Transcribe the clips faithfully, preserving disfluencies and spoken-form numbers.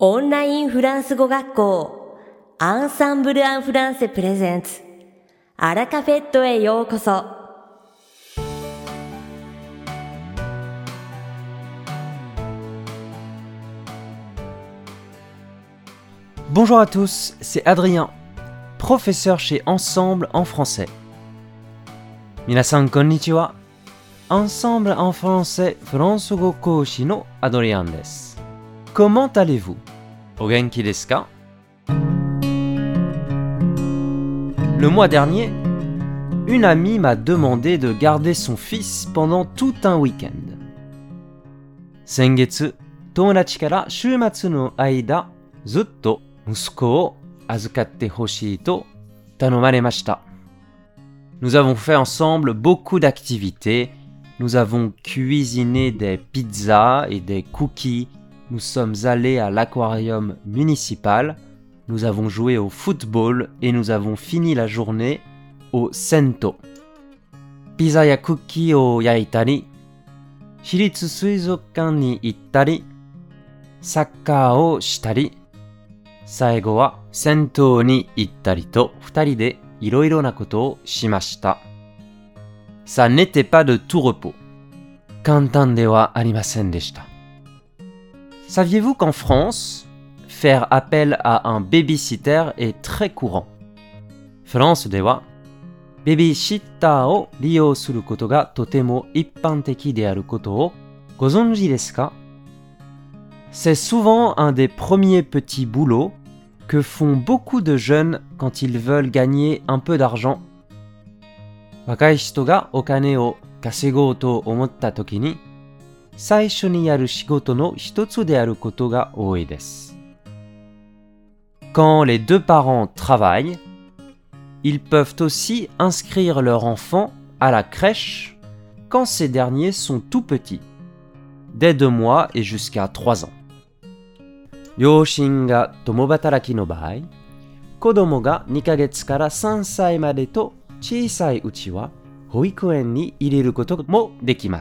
オンラインフランス語学校アンサンブル・アン・フランセプレゼンツアラカフェットへようこそ。 Bonjour à tous, c'est Adrien, professeur chez Ensemble en français. Minasan konnichiwa. Ensemble en français フランス語講師のアドリアンです。Comment allez-vous? お元気ですか? Le mois dernier, une amie m'a demandé de garder son fils pendant tout un week-end. 先月、友達から週末の間、ずっと息子を預かってほしいと頼まれました。Nous avons fait ensemble beaucoup d'activités. Nous avons cuisiné des pizzas et des cookies. Nous sommes allés à l'aquarium municipal. Nous avons joué au football et nous avons fini la journée au Sento. Pizza ya cookieを焼いたり、私立水族館に行ったり、サッカーをしたり、最後は銭湯に行ったりと二人でいろいろなことをしました。Ça n'était pas de tout repos. 簡単ではありませんでした。Saviez-vous qu'en France, faire appel à un babysitter est très courant? フランスではベビーシッターを利用することがとても一般的であることをご存知ですか? C'est souvent un des premiers petits boulots que font beaucoup de jeunes quand ils veulent gagner un peu d'argent. 若い人がお金を稼ごうと思ったときに、最初にやる仕事の一つであることが多いです。Quand les deux parents travaillent, ils peuvent aussi inscrire leur enfant à la crèche quand ces derniers sont tout petits, dès deux mois et jusqu'à trois ans. 両親が共働きの場合、子供がにかげつからさんさいまでと小さいうちは保育園に入れることもできます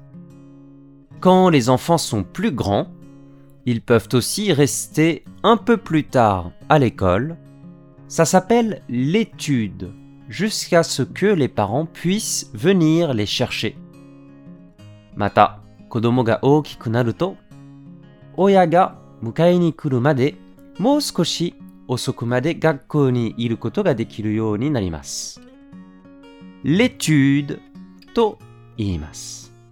。Quand les enfants sont plus grands, ils peuvent aussi rester un peu plus tard à l'école. Ça s'appelle l'étude, jusqu'à ce que les parents puissent venir les chercher. また、子供が大きくなると、親が迎えに来るまでもう少し遅くまで学校にいることができるようになります。l'étude と言います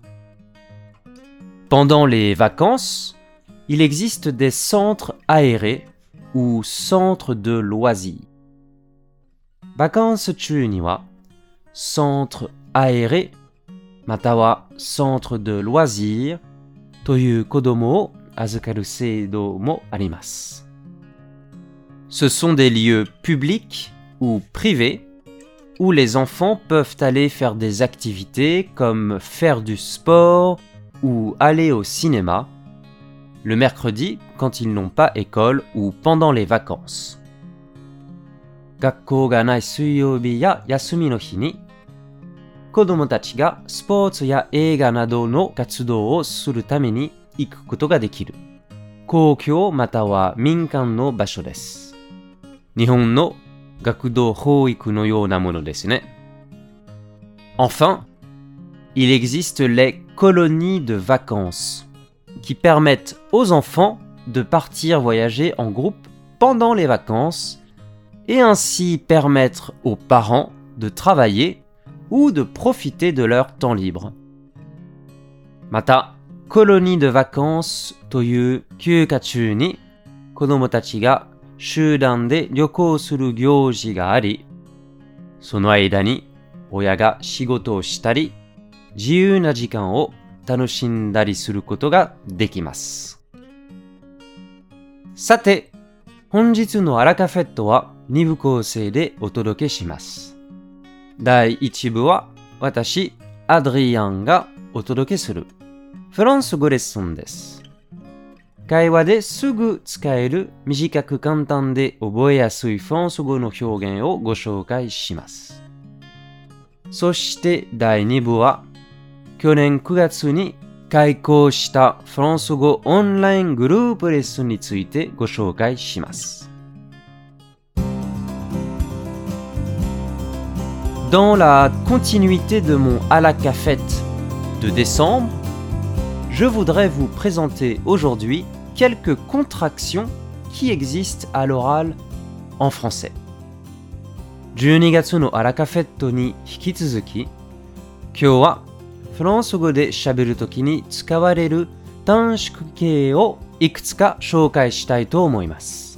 。Pendant les vacances, il existe des centres aérés ou centres de loisirs. バカンス中には centre aéré または centre de loisirs という子供を預かる制度もあります。Ce sont des lieux publics ou privés où les enfants peuvent aller faire des activités comme faire du sport ou aller au cinéma le mercredi quand ils n'ont pas école ou pendant les vacances. 学校がない水曜日や休みの日に子供たちがスポーツや映画などの活動をするために行くことができる公共または民間の場所です。日本の学童保育のようなものですね。Enfin, il existe les colonies de vacances qui permettent aux enfants de partir voyager en groupe pendant les vacances et ainsi permettre aux parents de travailler ou de profiter de leur temps libre. また、コロニーでバカンスという休暇中に子供たちが集団で旅行する行事があり、その間に親が仕事をしたり、自由な時間を楽しんだりすることができます。さて、本日のアラカフェットはに部構成でお届けします。だいいち部は私、アドリアンがお届けするフランス語レッスンです。会話ですぐ使える短く簡単で覚えやすいフランス語の表現をご紹介します。そしてだいに部は去年くがつに開講したフランス語オンライングループレッスンについてご紹介します。Dans la continuité de mon à la cafette de décembre, je voudrais vous présenter aujourd'hui quelques contractions qui existent à l'oral en français. じゅうにがつのアラカフェットに引き続き、今日はフランス語で喋るときに使われる短縮形をいくつか紹介したいと思います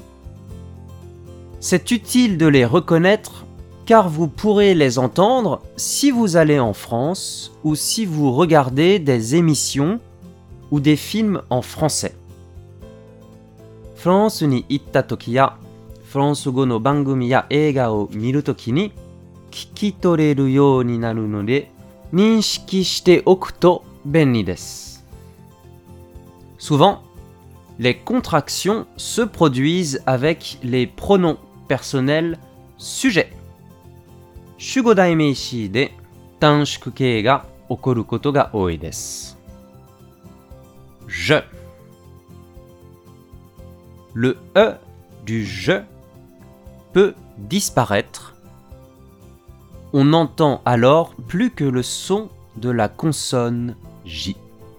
。C'est utile de les reconnaître car vous pourrez les entendre si vous allez en France ou si vous regardez des émissions ou des films en français. フランスに行ったときや、フランス語の番組や映画を見るときに聞き取れるようになるので、認識しておくと便利です。Souvent, les contractions se produisent avec les pronoms personnels sujets. 主語代名詞で短縮形が起こることが多いです。Je. Le E du je peut disparaître. On n'entend alors plus que le son de la consonne J.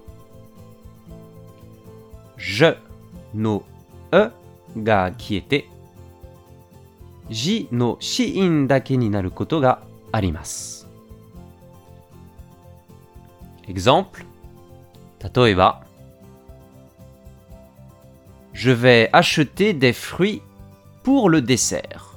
Je no E が消えて、J の子音だけになることがあります。Exemple、例えば、Je vais acheter des fruits pour le dessert.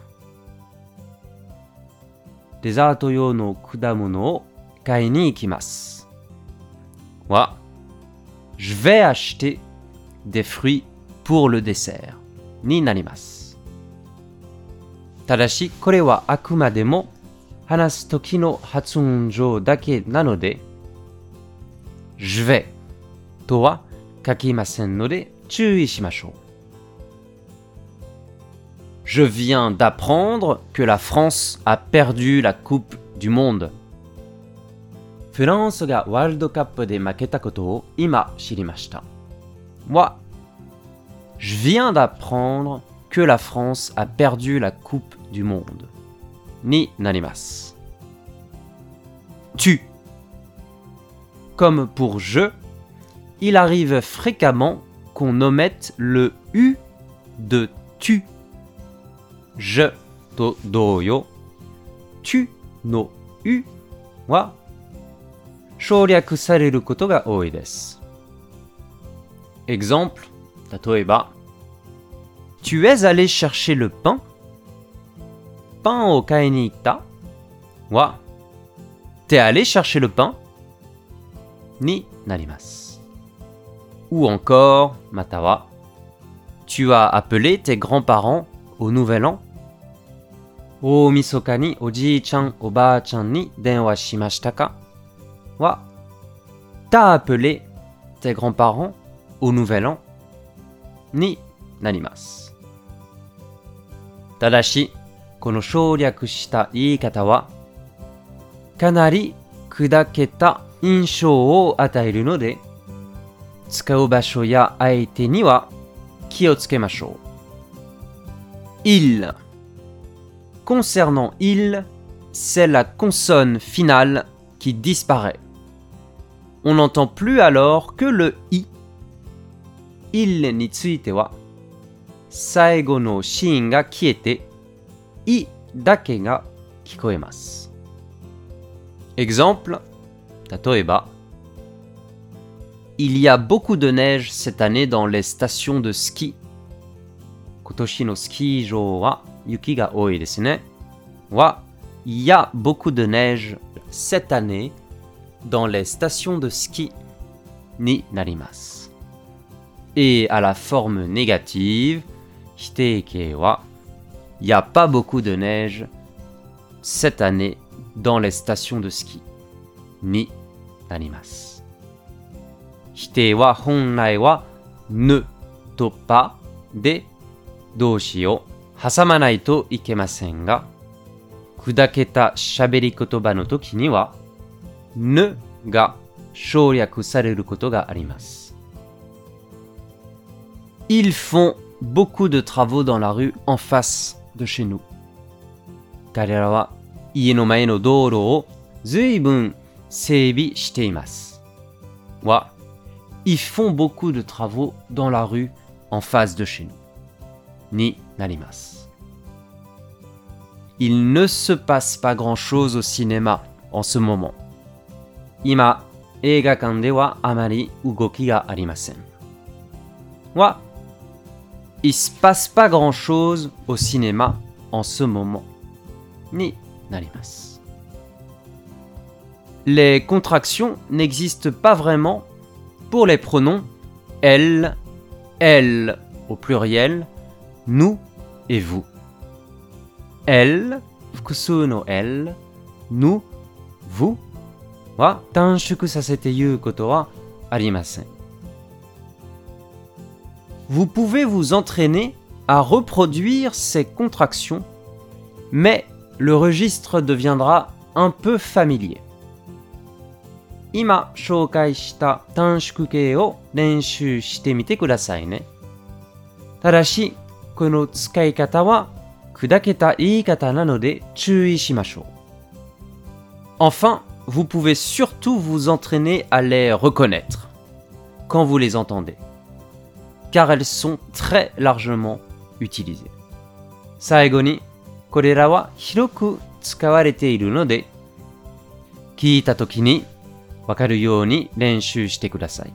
デザート用の果物を買いに行きます。は、Je vais acheter des fruits pour le dessert になります。ただし、これはあくまでも話す時の発音上だけなので、Je vais とは書きませんので注意しましょう。Je viens d'apprendre que la France a perdu la Coupe du Monde. フランスがワールドカップで負けたことを今知りました。は、Je viens d'apprendre que la France a perdu la Coupe du Monde. になります。Tu. Comme pour je, il arrive fréquemment qu'on omette le U de tu. Je と同様、tu の U は省略されることが多いです。Exemple、例えば、Tu es allé chercher le pain? パンを買いに行ったは、T'es allé chercher le pain? になります。Ou encore、または、Tu as appelé tes grands-parents au Nouvel An? 大晦日におじいちゃんおばあちゃんに電話しましたかは、T'as appelé tes grands-parents au Nouvel An? になります。ただし、この省略した言い方は、かなり砕けた印象を与えるので、使う場所や相手には気をつけましょう。Il. Concernant il, c'est la consonne finale qui disparaît. On n'entend plus alors que le i. il については、最後の子音が消えて、いだけが聞こえます。Exemple、例えば、Il y a beaucoup de neige cette année dans les stations de ski. 今年のスキー場は雪が多いですね。は、Il y a beaucoup de neige cette année dans les stations de ski になります。Et à la forme négative、否定形は、Il n'y a pas beaucoup de neige cette année dans les stations de ski になります。否定は本来は ne と pas で動詞を挟まないといけませんが、砕けた喋り言葉の時には ne が省略されることがあります。Ils font beaucoup de travaux dans la rue en face de chez nous. 彼らは家の前の道路を随分整備しています。は、Ils font beaucoup de travaux dans la rue en face de chez nous. になります。Il ne se passe pas grand-chose au cinéma en ce moment. 今、映画館ではあまり動きがありません。は、Il se passe pas grand-chose au cinéma en ce moment. になります。Les contractions n'existent pas vraiment pour les pronoms elle, elle au pluriel, nous et vous. Elle, 複数の elle, nous, vous は短縮させて言うことはありません。Vous pouvez vous entraîner à reproduire ces contractions, mais le registre deviendra un peu familier. 今紹介した短縮形を練習してみてくださいね。ただし、この使い方は砕けた言い方なので注意しましょう。Enfin, vous pouvez surtout vous entraîner à les reconnaître quand vous les entendez, car elles sont très largement utilisées. 最後に、これらは広く使われているので、聞いたときにわかるように練習してください。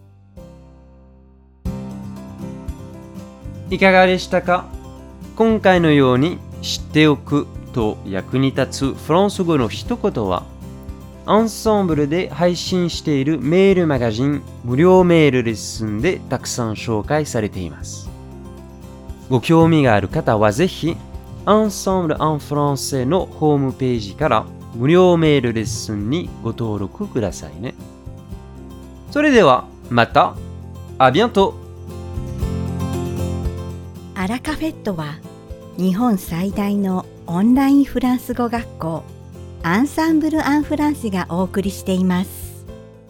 いかがでしたか？今回のように知っておくと役に立つフランス語の一言は、アンサンブルで配信しているメールマガジン無料メールレッスンでたくさん紹介されています。ご興味がある方はぜひ、Ensemble en français のホームページから無料メールレッスンにご登録くださいね。それではまた、à bientôt! アラカフェットは日本最大のオンラインフランス語学校アンサンブル・アン・フランセがお送りしています。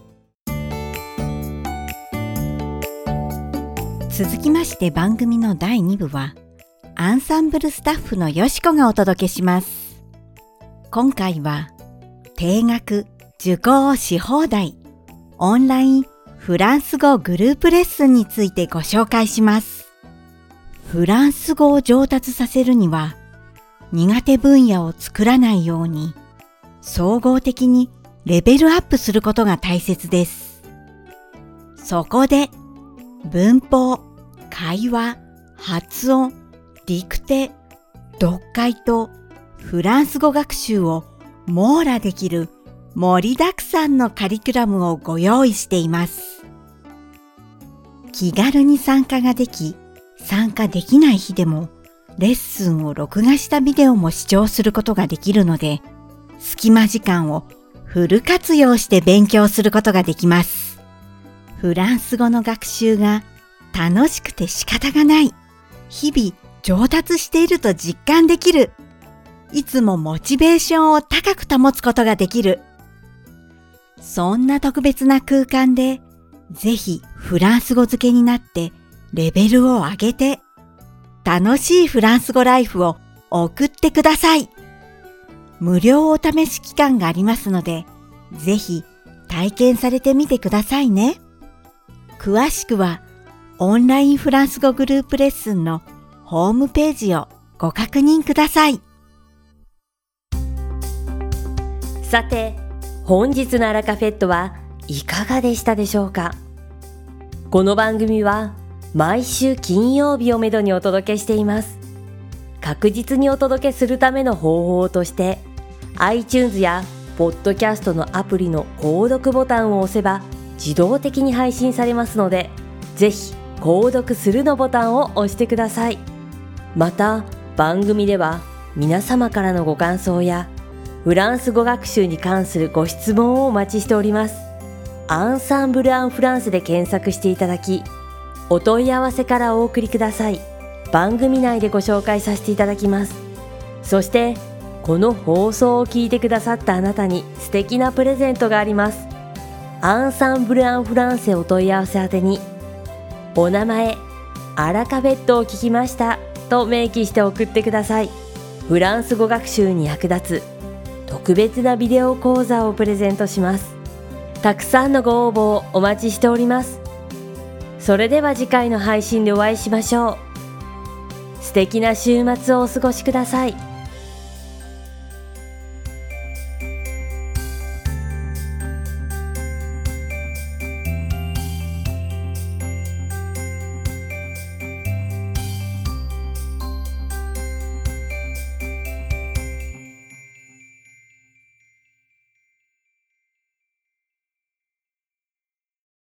続きまして番組のだいに部はアンサンブルスタッフのよしこがお届けします。今回は定額受講し放題オンラインフランス語グループレッスンについてご紹介します。フランス語を上達させるには苦手分野を作らないように総合的にレベルアップすることが大切です。そこで文法、会話、発音、ディクテ、読解とフランス語学習を網羅できる盛りだくさんのカリキュラムをご用意しています。気軽に参加ができ、参加できない日でもレッスンを録画したビデオも視聴することができるので、隙間時間をフル活用して勉強することができます。フランス語の学習が楽しくて仕方がない。日々上達していると実感できる。いつもモチベーションを高く保つことができる。そんな特別な空間で、ぜひフランス語漬けになってレベルを上げて、楽しいフランス語ライフを送ってください。無料お試し期間がありますので、ぜひ体験されてみてくださいね。詳しくはオンラインフランス語グループレッスンのホームページをご確認ください。 さて、本日のアラカフェットはいかがでしたでしょうか？この番組は毎週金曜日をめどにお届けしています。確実にお届けするための方法として、iTunes やポッドキャストのアプリの購読ボタンを押せば自動的に配信されますので、ぜひ購読するのボタンを押してください。また、番組では皆様からのご感想やフランス語学習に関するご質問をお待ちしております。アンサンブル・アン・フランスで検索していただき、お問い合わせからお送りください。番組内でご紹介させていただきます。そして、この放送を聞いてくださったあなたに素敵なプレゼントがあります。 アンサンブル・アン・フランセお問い合わせ宛てに、お名前、アラカフェットを聞きましたと明記して送ってください。フランス語学習に役立つ特別なビデオ講座をプレゼントします。たくさんのご応募をお待ちしております。それでは次回の配信でお会いしましょう。素敵な週末をお過ごしください。